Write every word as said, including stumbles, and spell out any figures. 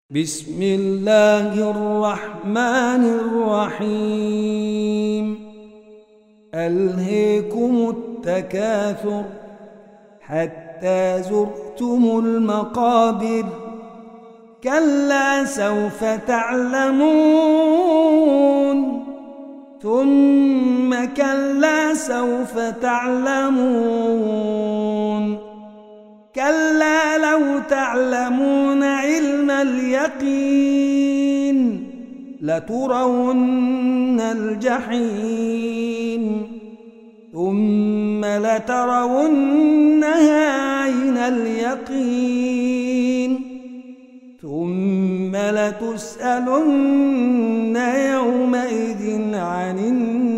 بسم الله الرحمن الرحيم ألهيكم التكاثر حتى زرتم المقابر كلا سوف تعلمون ثم كلا سوف تعلمون كلا لو تعلمون علم اليقين لترون الجحيم ثم لترونها عين اليقين ثم لتسألن يومئذ عن النعيم